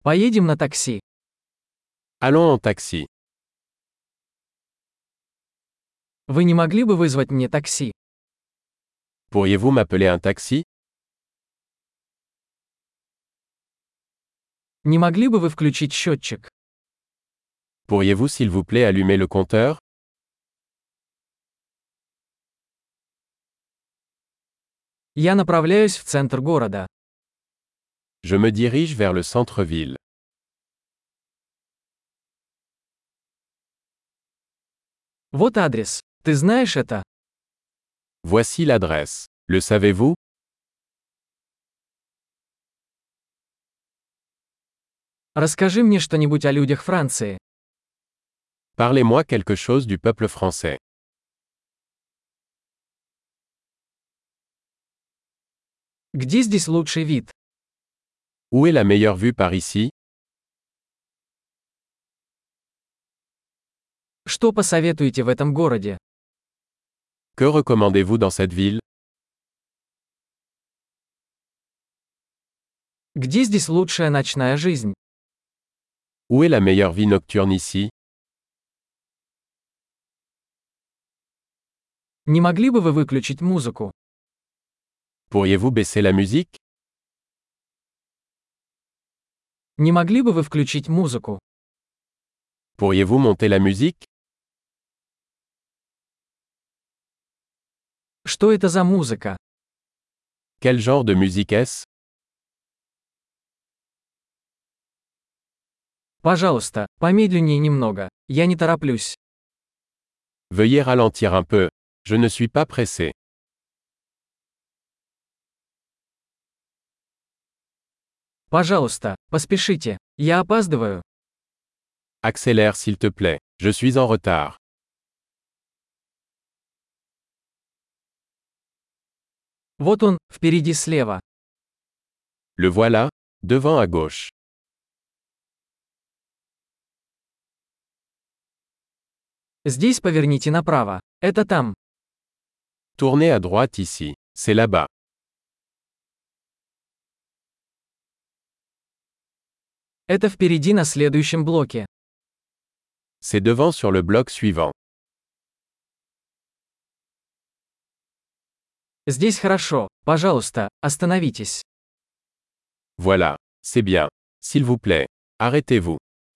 Поедем на такси. Allons en taxi. Вы не могли бы вызвать мне такси? Pourriez-vous m'appeler un taxi? Не могли бы вы включить счетчик? Pourriez-vous s'il vous plaît allumer le compteur? Я направляюсь в центр города. Je me dirige vers le centre-ville. Вот адрес. Ты знаешь это? Voici l'adresse. Le savez-vous? Расскажи мне что-нибудь о людях Франции. Parlez-moi quelque chose du peuple français. Где здесь лучший вид? Où est la meilleure vue par ici? Что посоветуете в этом городе? Que recommandez-vous dans cette ville? Где здесь лучшая ночная жизнь? Où est la meilleure vie nocturne ici? Не могли бы вы выключить музыку? Pourriez-vous baisser la musique? Не могли бы вы включить музыку? Pourriez-vous monter la musique? Что это за музыка? Quel genre de musique est-ce? Пожалуйста, помедленнее немного. Я не тороплюсь. Veuillez ralentir un peu. Je ne suis pas pressé. Пожалуйста, поспешите. Я опаздываю. Accélère s'il te plaît. Je suis en retard. Вот он, впереди слева. Le voilà, devant à gauche. Здесь поверните направо. Это там. Tournez à droite ici. C'est là-bas. Это впереди на следующем блоке. C'est devant sur le bloc suivant. Здесь хорошо. Пожалуйста, остановитесь. Voilà. C'est bien. S'il vous plaît. Arrêtez-vous.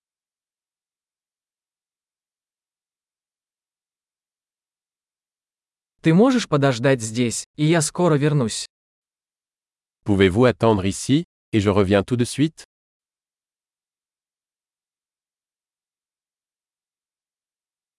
Ты можешь подождать здесь, и я скоро вернусь. Pouvez-vous attendre ici, et je reviens tout de suite?